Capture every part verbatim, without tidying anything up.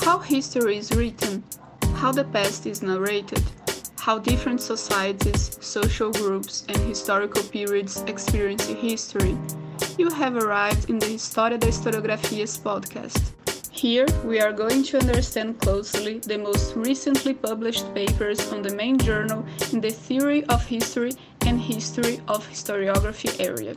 How history is written, how the past is narrated, how different societies, social groups, and historical periods experience history. You have arrived in the História da Historiografia's podcast. Here, we are going to understand closely the most recently published papers on the main journal in the theory of history and history of historiography area.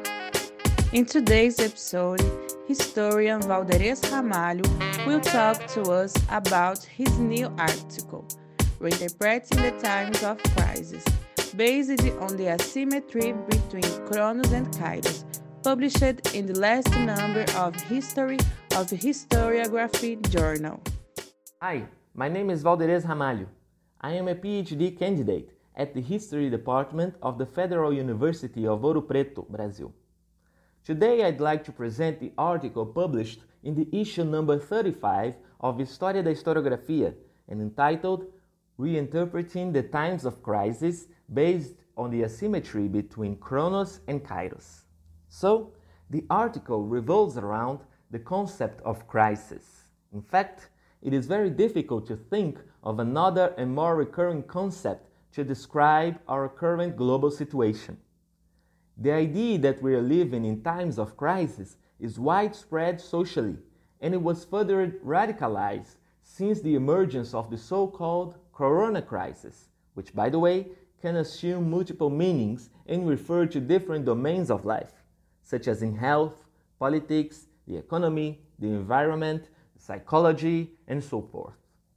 In today's episode, historian Valderes Ramalho will talk to us about his new article, Reinterpreting the Times of Crisis, based on the asymmetry between Cronos and Kairos, published in the last number of History of Historiography journal. Hi, my name is Valderes Ramalho. I am a PhD candidate at the History Department of the Federal University of Ouro Preto, Brazil. Today I'd like to present the article published in the issue number thirty-five of História da Historiografia and entitled Reinterpreting the Times of Crisis based on the asymmetry between Cronos and Kairos. So, the article revolves around the concept of crisis. In fact, it is very difficult to think of another and more recurring concept to describe our current global situation. The idea that we are living in times of crisis is widespread socially, and it was further radicalized since the emergence of the so-called Corona crisis, which, by the way, can assume multiple meanings and refer to different domains of life, such as in health, politics, the economy, the environment, psychology, and so forth.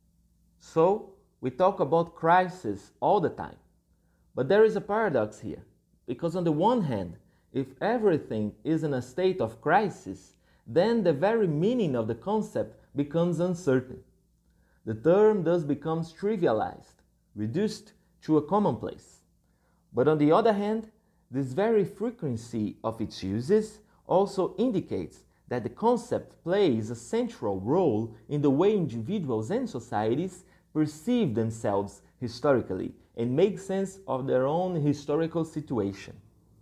So, we talk about crisis all the time. But there is a paradox here, because on the one hand, if everything is in a state of crisis, then the very meaning of the concept becomes uncertain. The term thus becomes trivialized, reduced to a commonplace. But on the other hand, this very frequency of its uses also indicates that the concept plays a central role in the way individuals and societies perceive themselves historically and make sense of their own historical situation.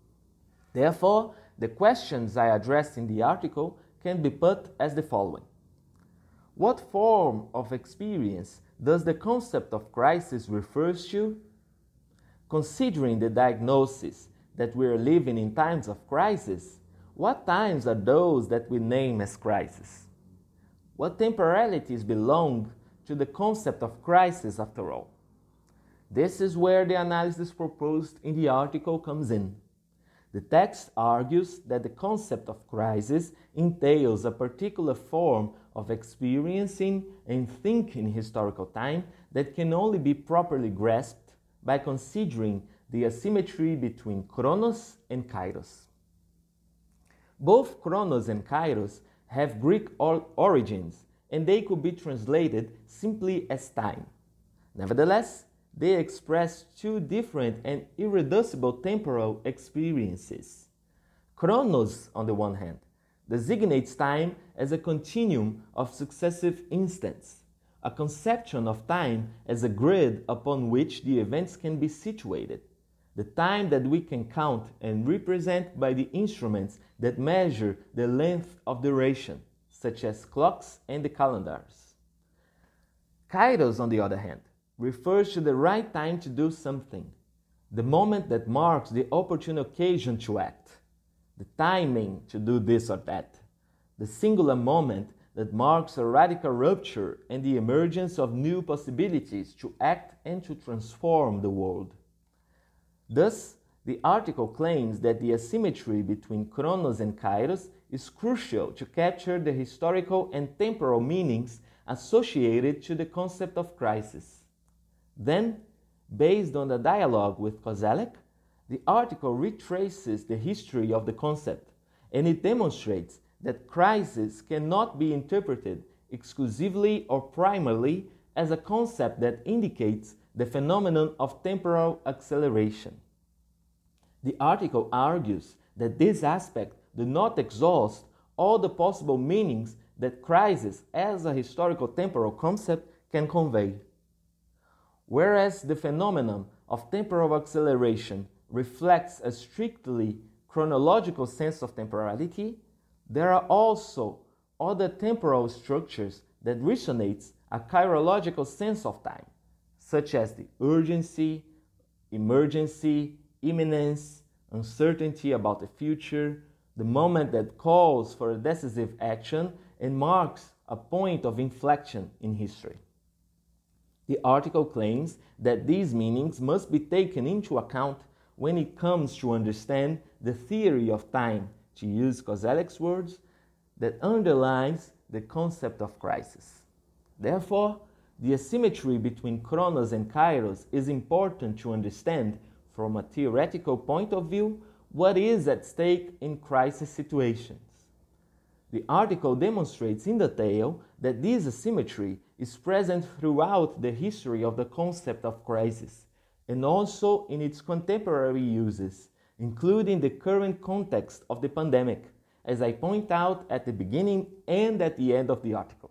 Therefore, the questions I addressed in the article can be put as the following. What form of experience does the concept of crisis refer to? Considering the diagnosis that we are living in times of crisis, what times are those that we name as crisis? What temporalities belong to the concept of crisis after all? This is where the analysis proposed in the article comes in. The text argues that the concept of crisis entails a particular form of experiencing and thinking historical time that can only be properly grasped by considering the asymmetry between Cronos and Kairos. Both Cronos and Kairos have Greek or- origins, and they could be translated simply as time. Nevertheless, they express two different and irreducible temporal experiences. Chronos, on the one hand, designates time as a continuum of successive instants, a conception of time as a grid upon which the events can be situated, the time that we can count and represent by the instruments that measure the length of duration, such as clocks and the calendars. Kairos, on the other hand, refers to the right time to do something, the moment that marks the opportune occasion to act, the timing to do this or that, the singular moment that marks a radical rupture and the emergence of new possibilities to act and to transform the world. Thus, the article claims that the asymmetry between Cronos and Kairos is crucial to capture the historical and temporal meanings associated to the concept of crisis. Then, based on the dialogue with Koselleck, the article retraces the history of the concept, and it demonstrates that crisis cannot be interpreted exclusively or primarily as a concept that indicates the phenomenon of temporal acceleration. The article argues that this aspect does not exhaust all the possible meanings that crisis as a historical temporal concept can convey. Whereas the phenomenon of temporal acceleration reflects a strictly chronological sense of temporality, there are also other temporal structures that resonates a chirological sense of time, such as the urgency, emergency, imminence, uncertainty about the future, the moment that calls for a decisive action and marks a point of inflection in history. The article claims that these meanings must be taken into account when it comes to understand the theory of time, to use Koselleck's words, that underlies the concept of crisis. Therefore, the asymmetry between Chronos and Kairos is important to understand from a theoretical point of view what is at stake in crisis situations. The article demonstrates in detail that this asymmetry is present throughout the history of the concept of crisis and also in its contemporary uses, including the current context of the pandemic, as I point out at the beginning and at the end of the article.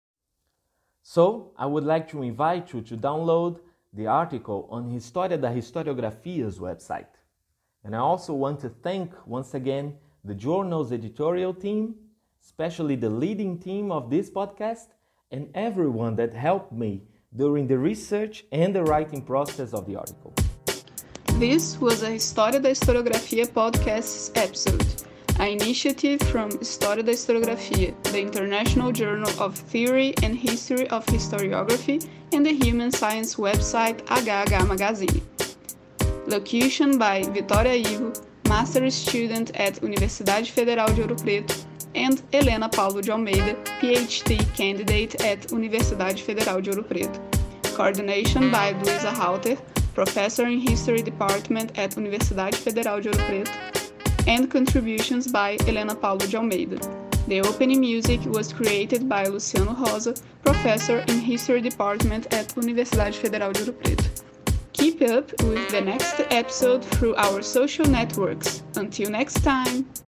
So, I would like to invite you to download the article on História da Historiografia's website. And I also want to thank once again the journal's editorial team, especially the leading team of this podcast, and everyone that helped me during the research and the writing process of the article. This was a História da Historiografia podcast's episode, an initiative from História da Historiografia, the International Journal of Theory and History of Historiography, and the human science website H H Magazine. Locution by Vitória Ivo, Master Student at Universidade Federal de Ouro Preto, and Helena Paulo de Almeida, PhD Candidate at Universidade Federal de Ouro Preto. Coordination by Luisa Halter, Professor in History Department at Universidade Federal de Ouro Preto, and contributions by Helena Paulo de Almeida. The opening music was created by Luciano Rosa, Professor in History Department at Universidade Federal de Ouro Preto. Keep up with the next episode through our social networks. Until next time!